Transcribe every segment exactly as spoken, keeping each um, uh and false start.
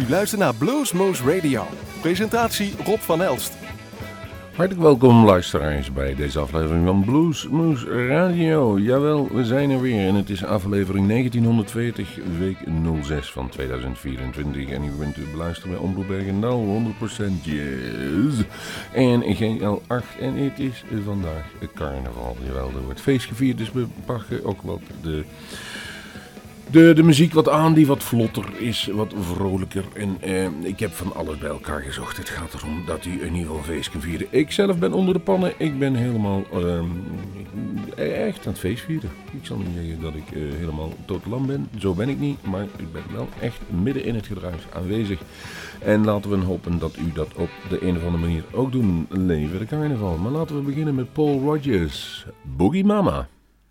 luistert naar Bluesmoose Radio. Presentatie Rob van Elst. Hartelijk welkom luisteraars bij deze aflevering van Bluesmoose Radio. Jawel, we zijn er weer en het is aflevering negentienhonderdveertig, week nul zes van tweeduizend vierentwintig. En u bent te beluisteren bij Omroep Bergendal, honderd procent jazz. En G L acht en het is vandaag carnaval. Jawel, er wordt feest gevierd, dus we pakken ook wat de... De, de muziek wat aan die wat vlotter is, wat vrolijker. En eh, ik heb van alles bij elkaar gezocht. Het gaat erom dat u in ieder geval een feest kan vieren. Ik zelf ben onder de pannen. Ik ben helemaal eh, echt aan het feest vieren. Ik zal niet zeggen dat ik eh, helemaal totaal ben. Zo ben ik niet. Maar ik ben wel echt midden in het gedruis aanwezig. En laten we hopen dat u dat op de een of andere manier ook doen. Leven de carnaval. Maar laten we beginnen met Paul Rodgers. Boogie Mama.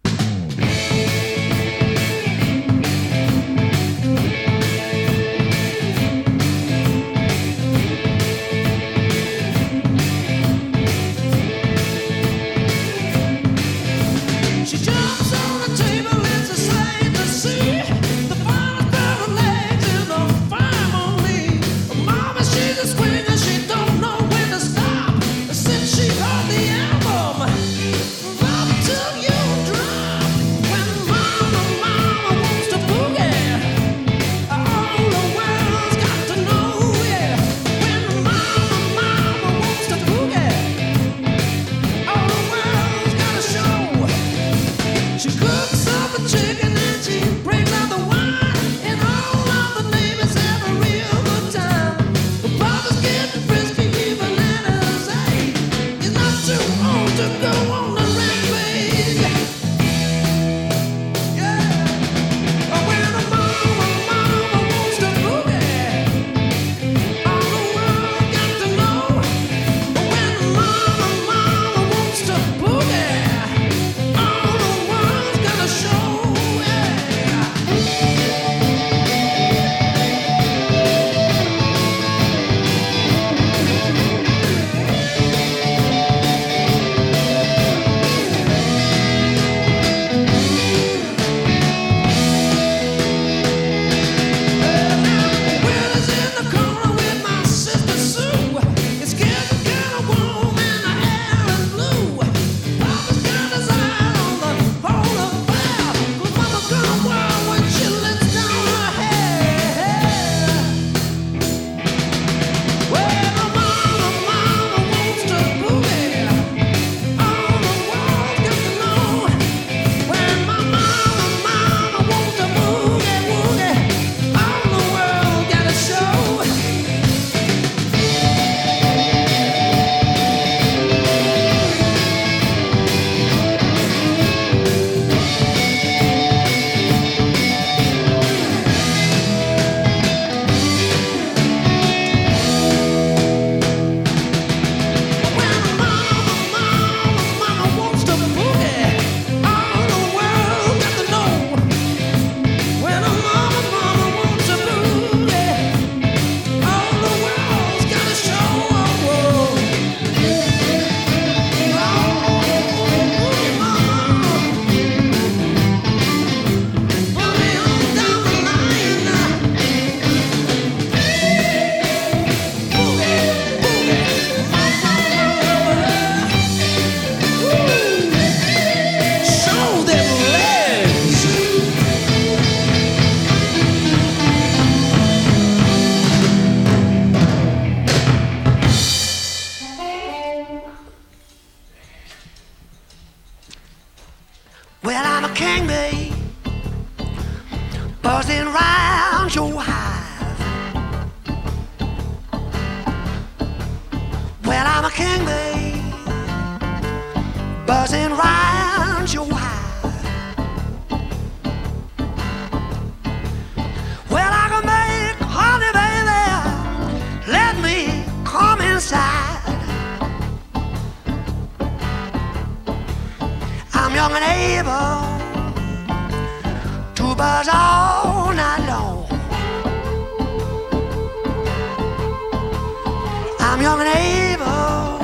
I'm young and able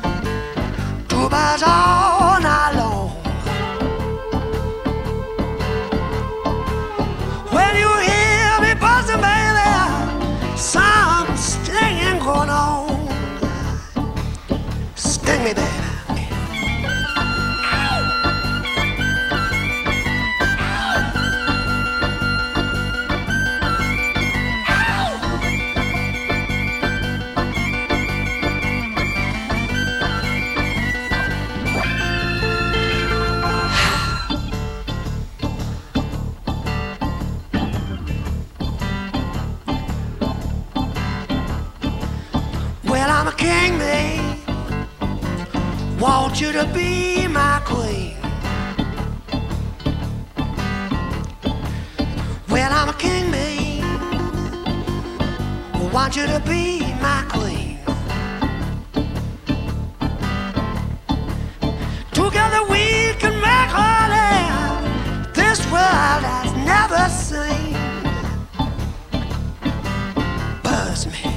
to buzz all night long. When you hear me buzzing, baby, sound king, me. Want you to be my queen. Well, I'm a king, me. Want you to be my queen. Together we can make honey this world has never seen. Buzz me.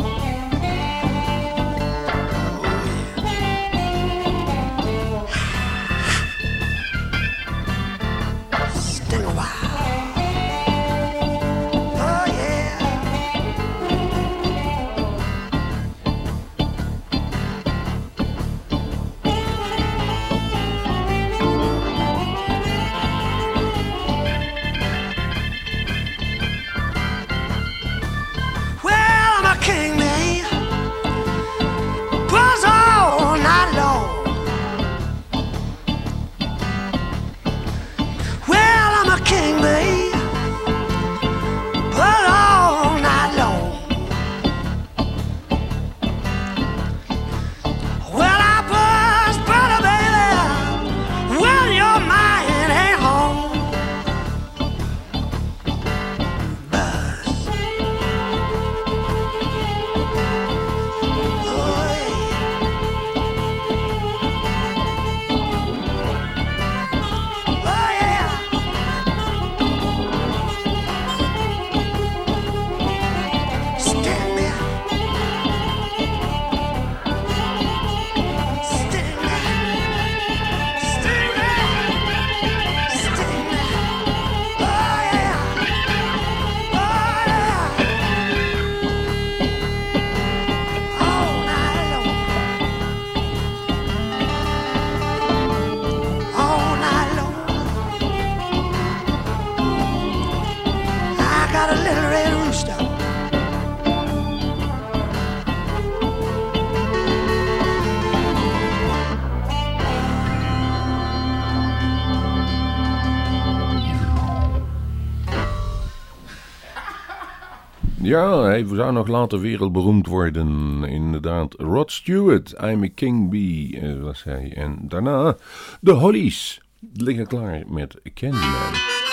Ja, hij zou nog later wereldberoemd worden. Inderdaad, Rod Stewart, I'm a King Bee, was hij. En daarna de Hollies liggen klaar met Candyman.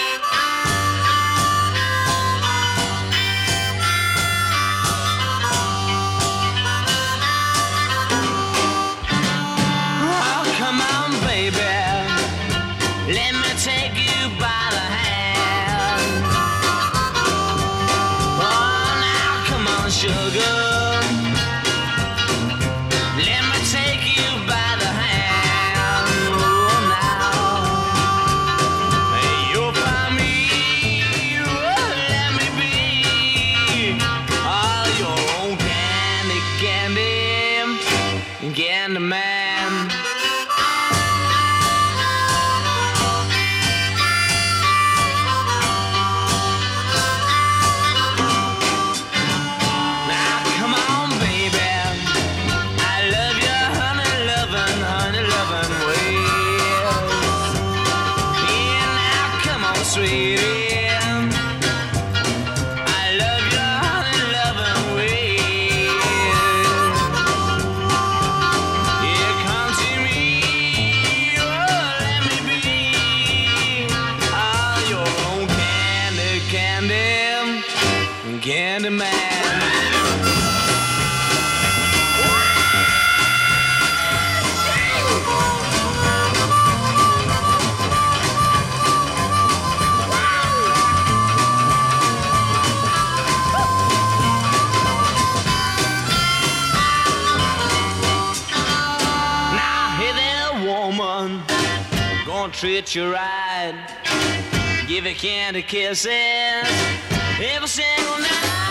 Treat you right, give you candy kisses every single night.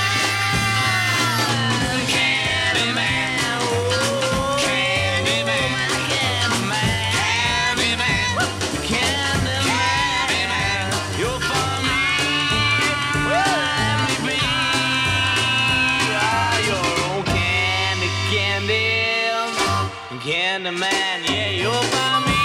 Candyman, oh, Candyman, Candyman, Candyman, Candyman, you're for me, well, let me be, oh, your own candy, candy, Candyman, yeah, you're for me.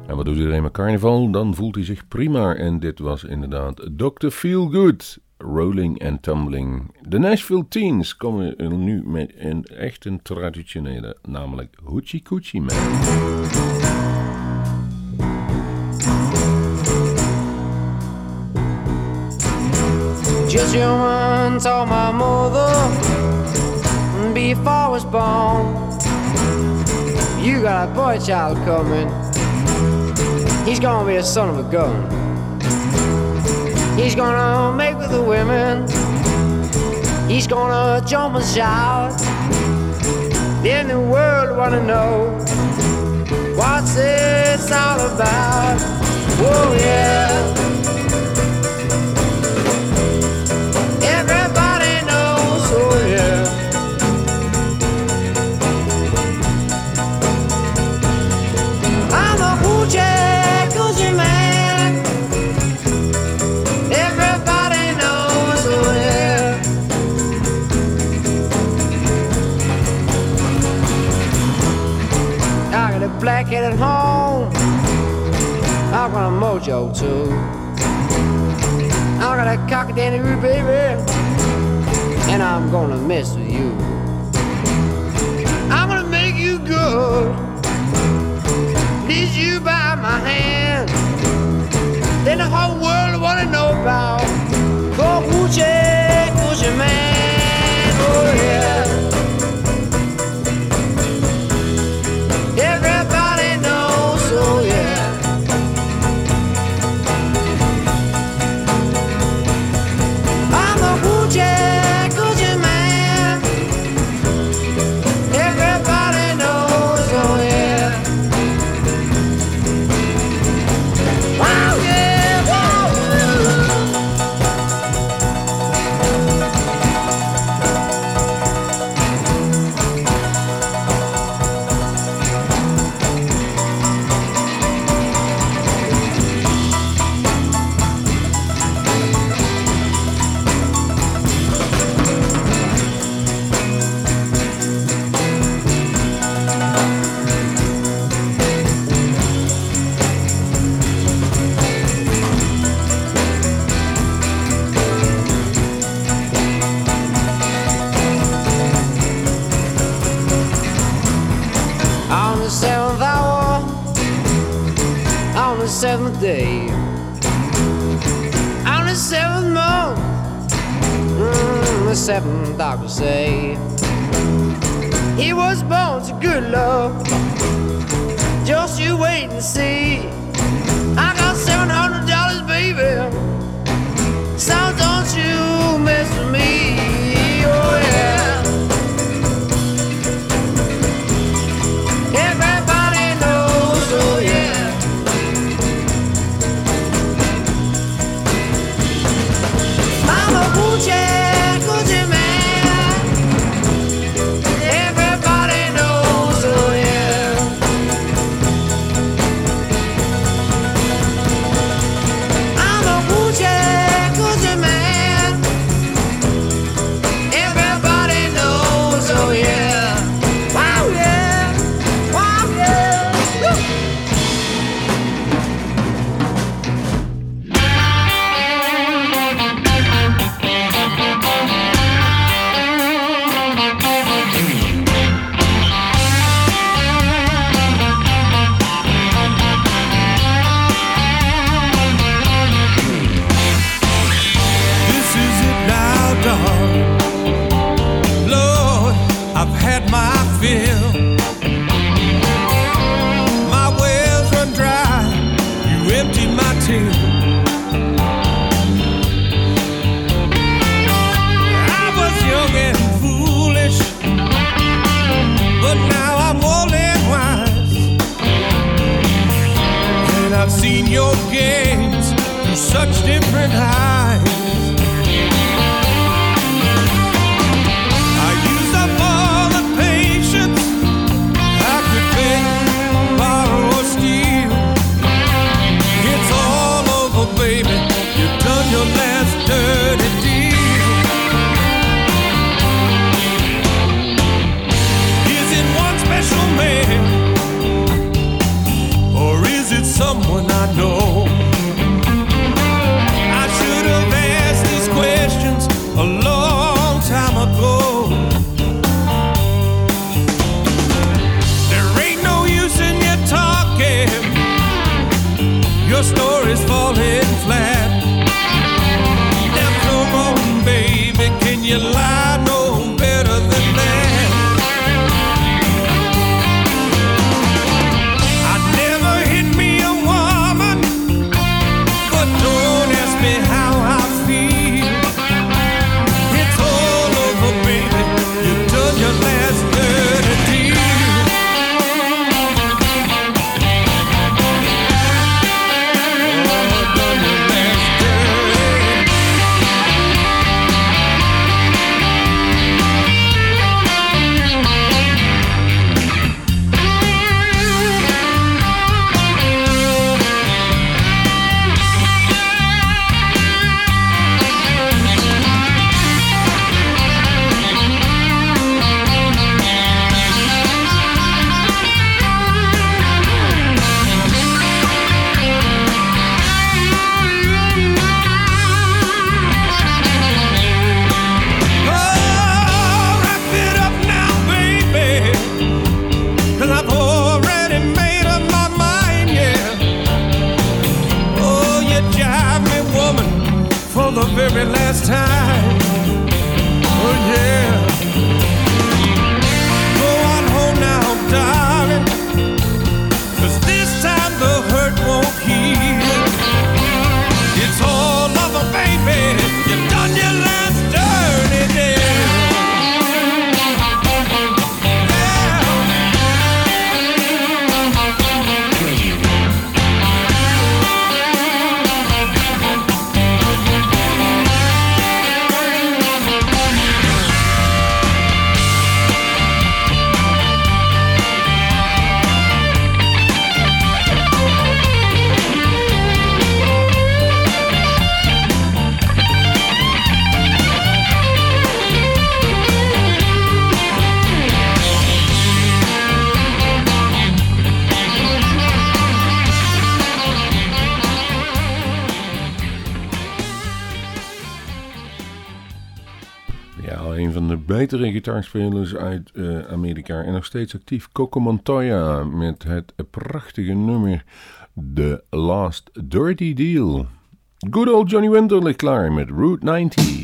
En wat doet iedereen met carnaval? Dan voelt hij zich prima. En dit was inderdaad dokter Feelgood, Rolling and Tumbling. De Nashville Teens komen nu met een echt een traditionele, namelijk Hoochie Coochie Man. Just human told my mother before I was born, you got a boy child coming. He's gonna be a son of a gun. He's gonna make with the women. He's gonna jump and shout. Then the world wanna know what's this all about. Oh yeah. Everybody knows, oh yeah. I'm a hoochie coochie man. Everybody knows, oh yeah. I got a blackhead at home. I got a mojo too. I got a cockadoo baby, and I'm gonna mess with you. I'm gonna make you good. Lead you by my hand. Then the whole world wanna know about the hoochie coochie man. Oh yeah. Everybody knows, oh yeah. I'm a hoochie coochie man. Everybody knows, oh yeah. Wow, yeah, wow. On the seventh hour, on the seventh day, on the seventh month, mm, the seventh doctor say he was born to good love. Just you wait and see. I got seven hundred dollars, baby. So don't you mess with me. Oh yeah. Everybody knows, oh yeah. I'm a hoochie coochie man. Everybody knows, oh yeah. I'm a hoochie coochie man. Everybody knows, oh yeah. Wow yeah. Wow yeah. Woo. This is it now, darling. Lord, I've had my fill. My wells run dry. You emptied my till. I was young and foolish, but now I'm old and wise. And I've seen your games through such different eyes. I used up all the patience I could beg, borrow, or steal. It's all over, baby. You've done your last dirty deal. Is it one special man, or is it some someone I know. I should have asked these questions a long time ago. There ain't no use in you talking, your story's falling flat. Now come on, baby, can you lie no better than that? I never hit me a woman, but don't ask me how I feel. It's all over, baby, you've done your last dirty deal. Very last time, oh yeah. Go on home now, darling, 'cause this time the hurt won't heal. It's all over, baby, you've done your last dirty deal. Betere gitaarspelers uit uh, Amerika en nog steeds actief. Coco Montoya met het prachtige nummer The Last Dirty Deal. Good old Johnny Winter ligt klaar met Route ninety.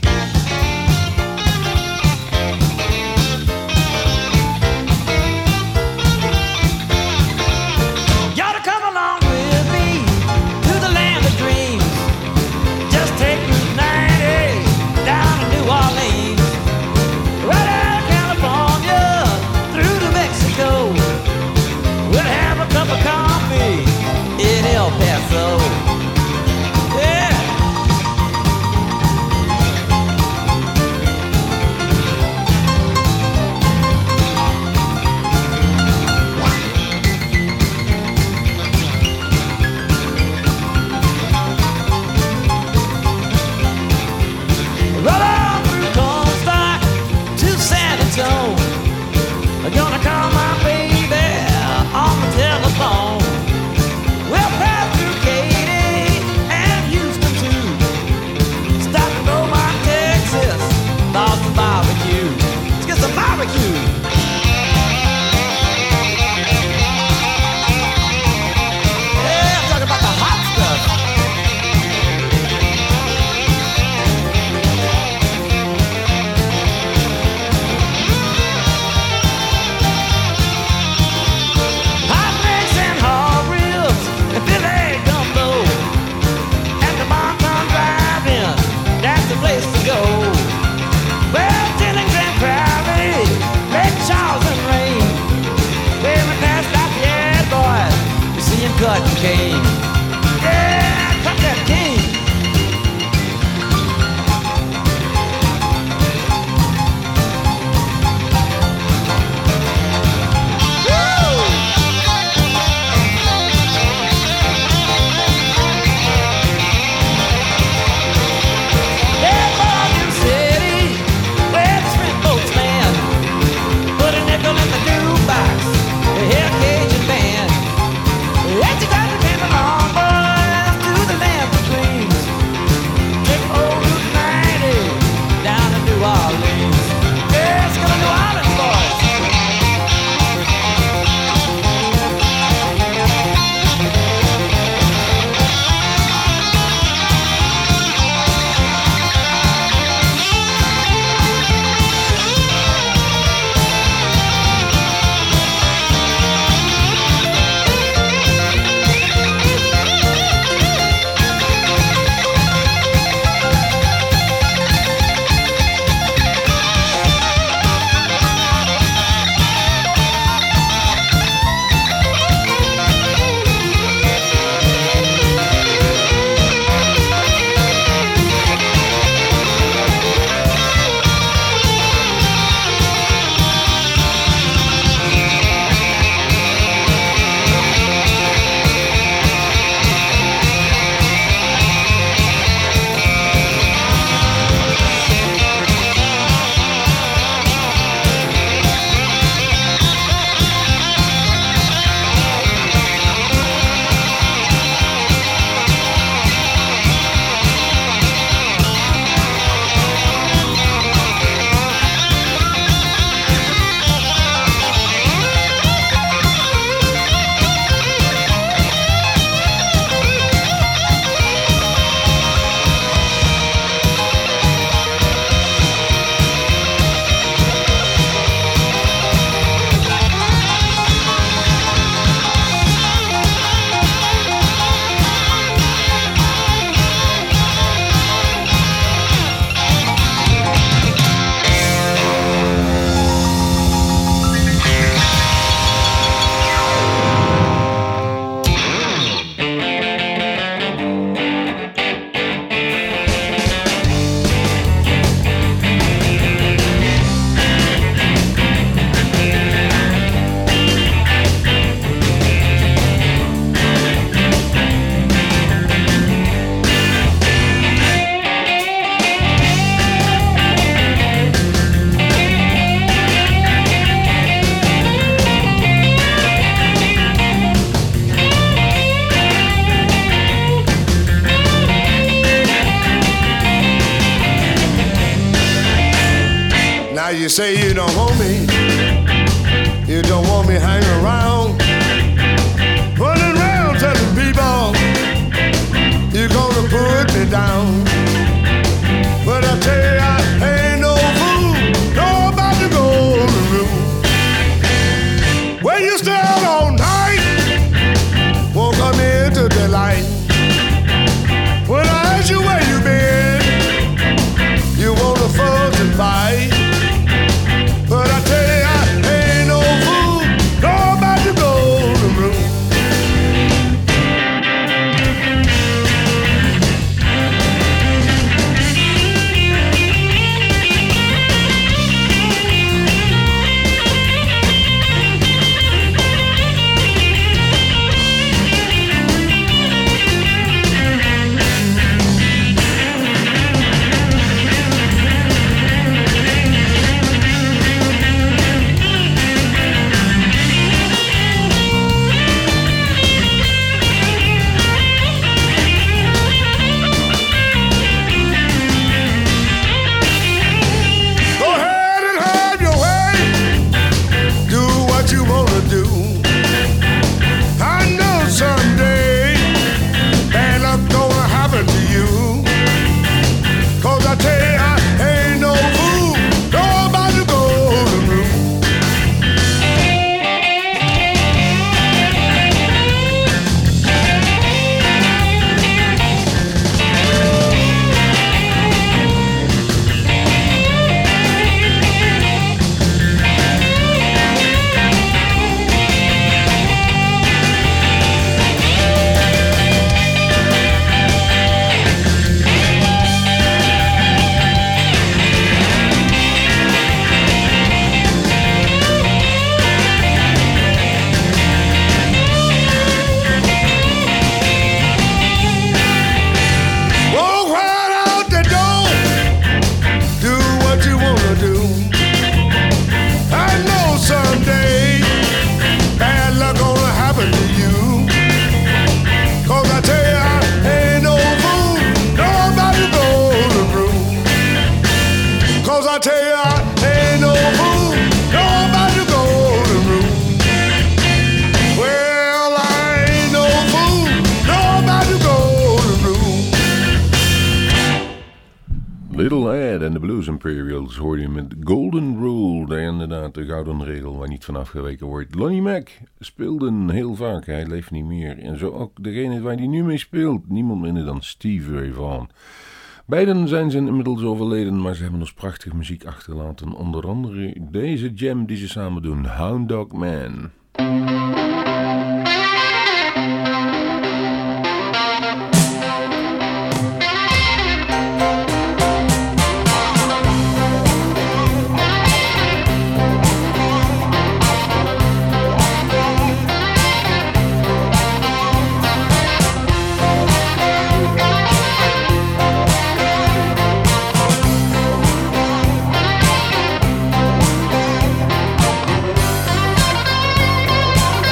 Cut cane. Yeah, cut that cane. Put a nickel in the jukebox. Hear a Cajun band. Ain't you got to depend on say you don't want me, you don't want me hanging around, running around telling people you're gonna put me down. But I tell you, I ain't no fool, nobody go to room. When you stay out all night, won't come into the light. When I ask you where you been, you wanna fuss and fight. But I tell you, I ain't no fool, nobody go to room. Imperials hoor je met Golden Rule, daar inderdaad de gouden regel waar niet van afgeweken wordt. Lonnie Mac speelde heel vaak, hij leeft niet meer. En zo ook degene waar hij nu mee speelt, niemand minder dan Stevie Ray Vaughan. Beiden zijn ze inmiddels overleden, maar ze hebben ons prachtige muziek achtergelaten. Onder andere deze jam die ze samen doen, Hound Dog Man. Thank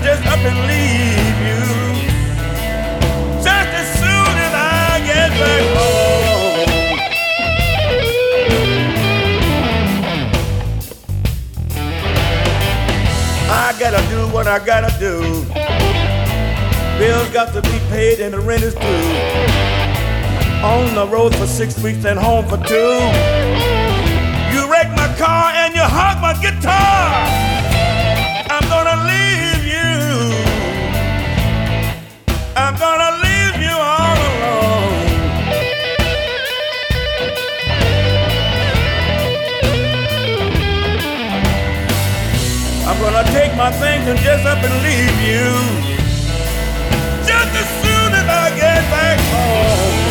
just up and leave you. Just as soon as I get back home. I gotta do what I gotta do. Bills got to be paid and the rent is due. On the road for six weeks and home for two. You wreck my car and you hog my guitar. I'm gonna leave you. I'm gonna leave you all alone. I'm gonna take my things and just up and leave you. Just as soon as I get back home.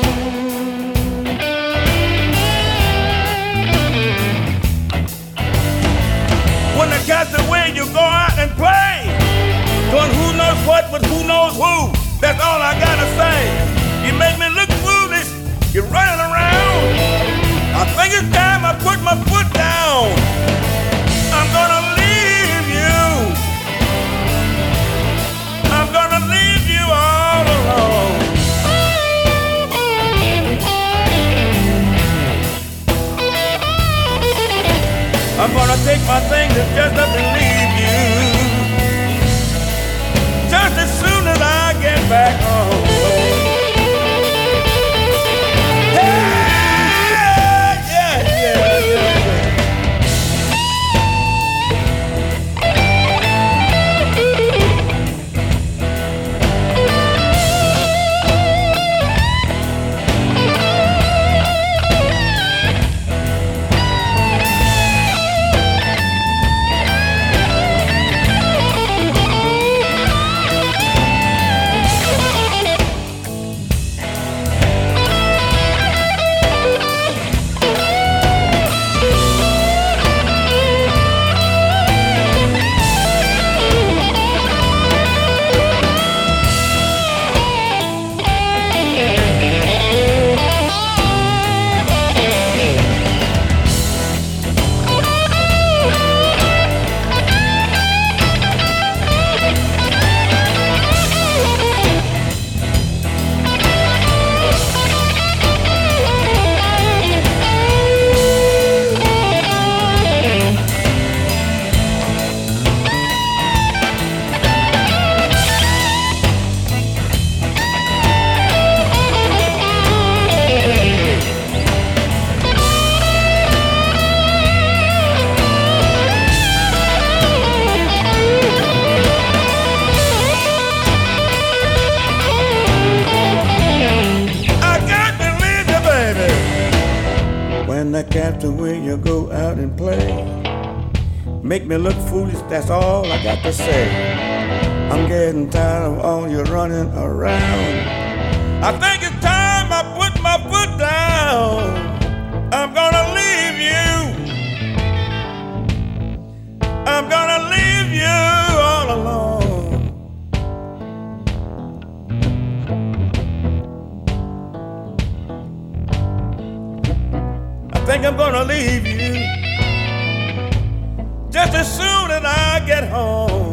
When the cat's away, you go out and play. Doing who knows what with who knows who. That's all I gotta say. You make me look foolish. You're running around. I think it's time I put my foot down. I'm gonna leave you. I'm gonna leave you all alone. I'm gonna take my things and just up and leave you. Just as soon as I get back home. Hey, yeah, yeah, yeah, yeah. Captain, when you go out and play, make me look foolish, that's all I got to say. I'm getting tired of all your running around. I think it's time I put my foot down. I'm gonna leave you. I'm gonna leave you all alone. I think I'm gonna leave you just as soon as I get home.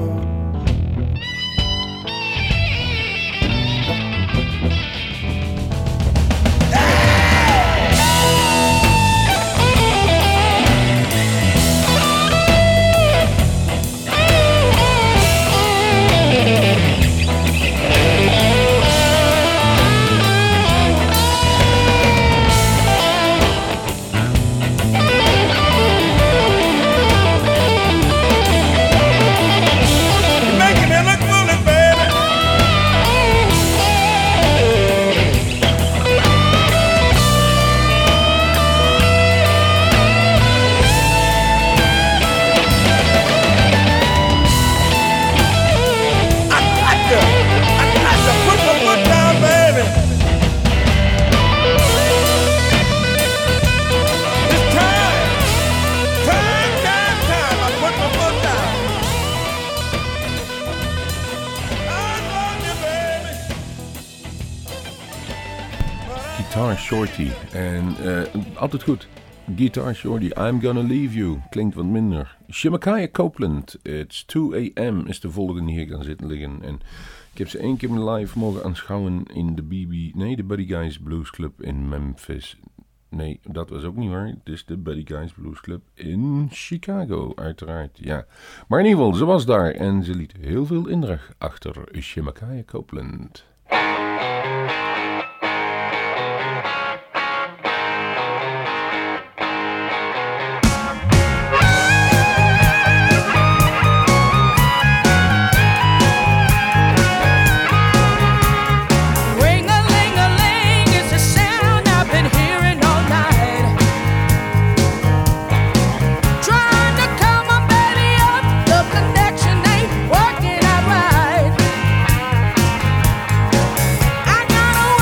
Shorty. En uh, altijd goed. Guitar Shorty, I'm Gonna Leave You. Klinkt wat minder. Shemakaya Copeland, It's two a.m. is de volgende hier gaan zitten liggen. En ik heb ze één keer live mogen aanschouwen in de B B... Nee, de Buddy Guys Blues Club in Memphis. Nee, dat was ook niet waar. Het is de Buddy Guys Blues Club in Chicago, uiteraard. Ja. Maar in ieder geval, ze was daar en ze liet heel veel indruk achter. Shemakaya Copeland. Working out right. I got a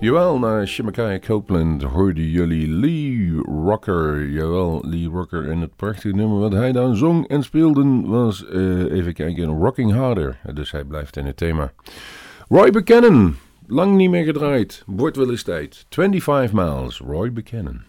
Jawel, na Shemakaya Copeland hoorden jullie Lee Rocker. Jawel, Lee Rocker. En het prachtige nummer wat hij dan zong en speelde was, uh, even kijken, Rocking Harder. Dus hij blijft in het thema. Roy Buchanan, lang niet meer gedraaid. Wordt wel eens tijd. twenty-five miles, Roy Buchanan.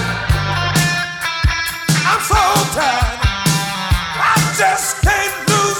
Just can't lose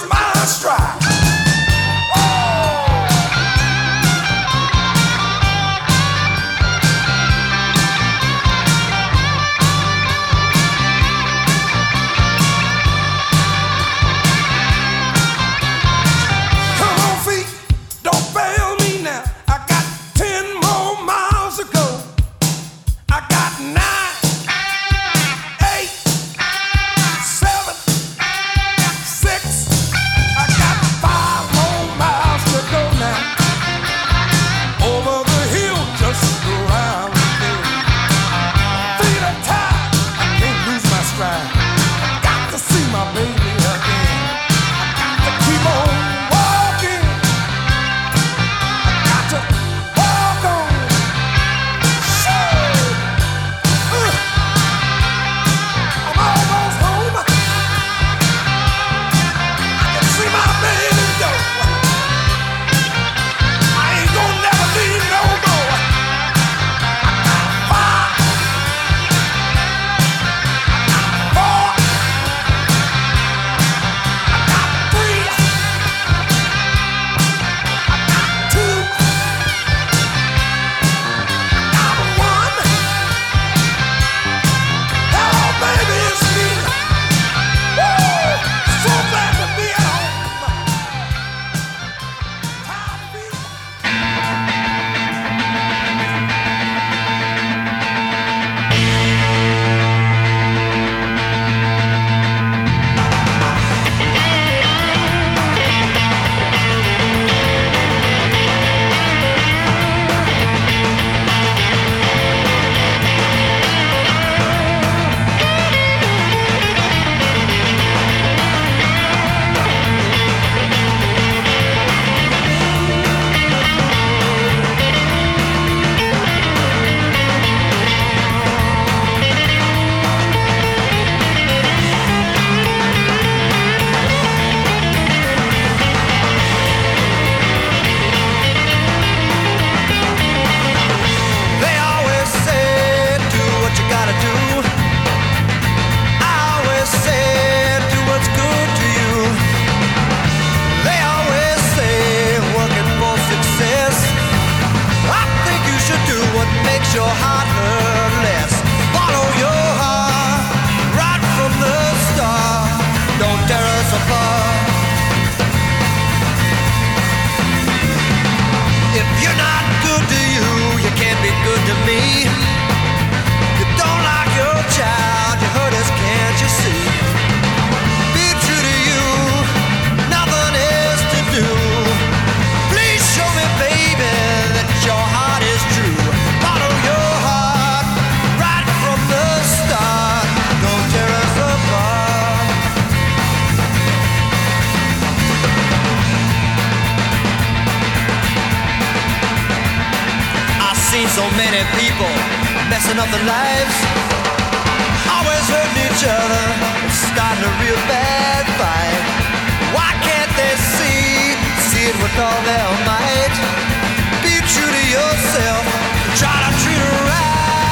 So many people messing up their lives, always hurting each other, starting a real bad fight. Why can't they see, see it with all their might? Be true to yourself, try to treat it right.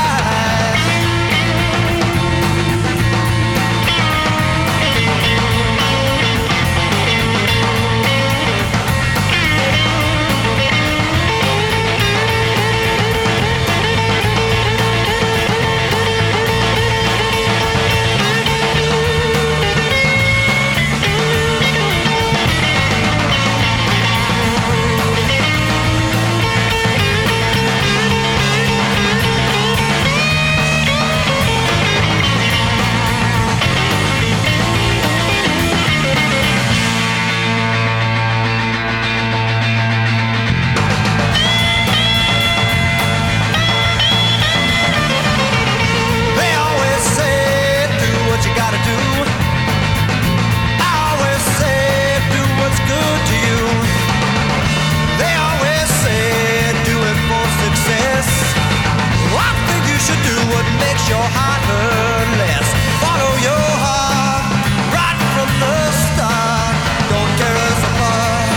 Your heart hurt less. Follow your heart right from the start. Don't tear us apart.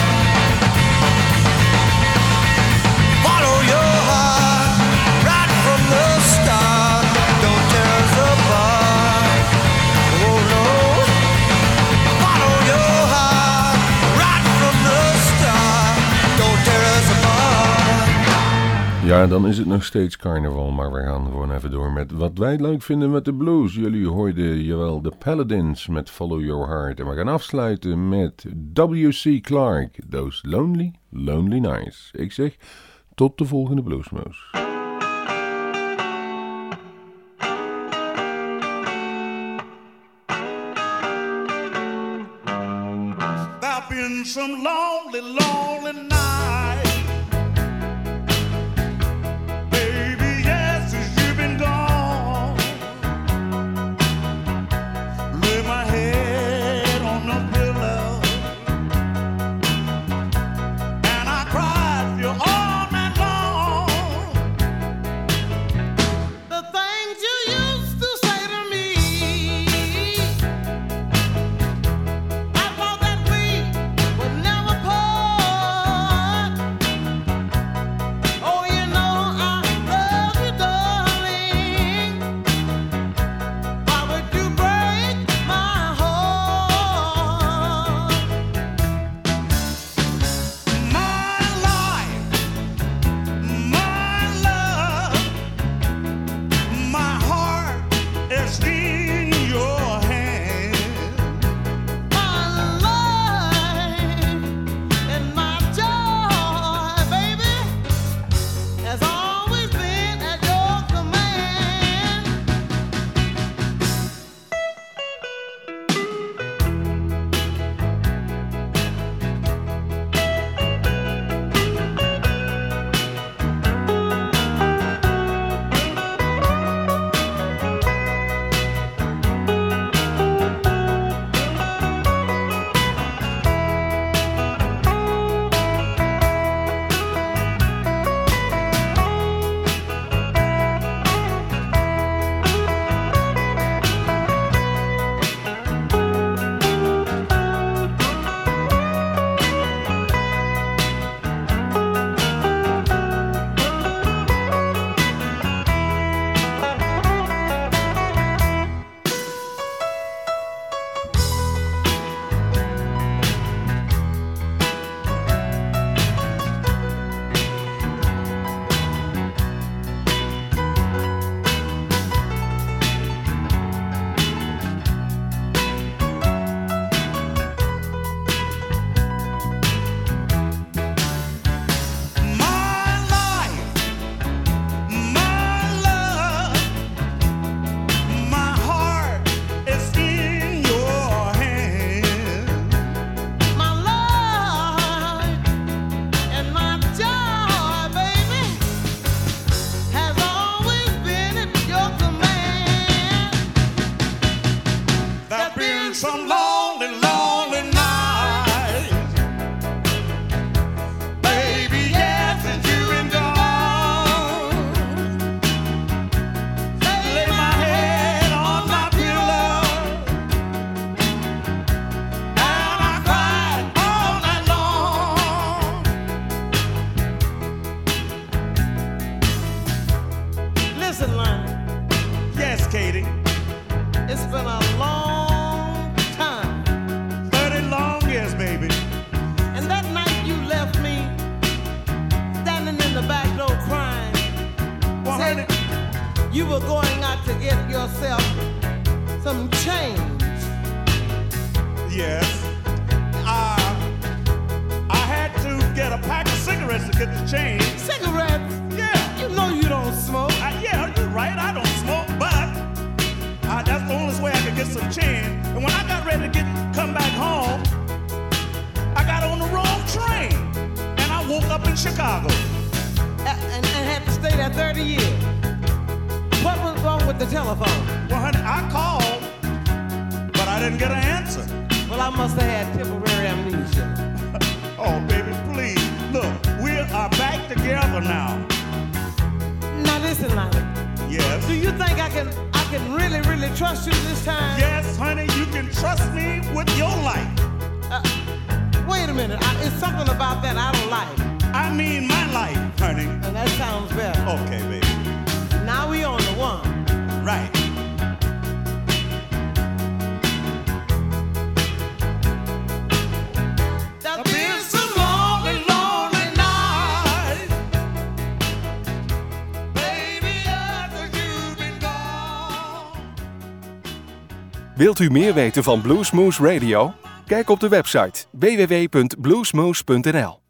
Follow your heart right from the start. Don't tear us apart. Oh no. Follow your heart right from the start. Don't tear us apart. Ja, dan is het nog steeds carnaval, maar we gaan gewoon even door met wat wij leuk vinden met de blues. Jullie hoorden, jawel, de Paladins met Follow Your Heart. En we gaan afsluiten met W C Clark, Those Lonely, Lonely Nights. Ik zeg, tot de volgende Bluesmoes. There've been some lonely, lonely nights. Never pause. you were going out to get yourself some change. Yes. Uh, I had to get a pack of cigarettes to get the change. Cigarettes? Yeah. You know you don't smoke. I, yeah, you're right. I don't smoke, but uh, that's the only way I could get some change. And when I got ready to get come back home, I got on the wrong train, and I woke up in Chicago. And, and, and had to stay there thirty years. What was wrong with the telephone? Well, honey, I called, but I didn't get an answer. Well, I must have had temporary amnesia. Oh, baby, please. Look, we are back together now. Now listen, Lonnie. Yes? Do you think I can I can really, really trust you this time? Yes, honey, you can trust me with your life. Uh, wait a minute. I, it's something about that I don't like. I mean my life, honey. And that sounds better. Okay, baby. Now we on the one. Right. There's been some lonely, lonely nights. Baby, after you've been gone. Wilt u meer weten van Bluesmoose Radio? Kijk op de website w w w punt bluesmoose punt n l.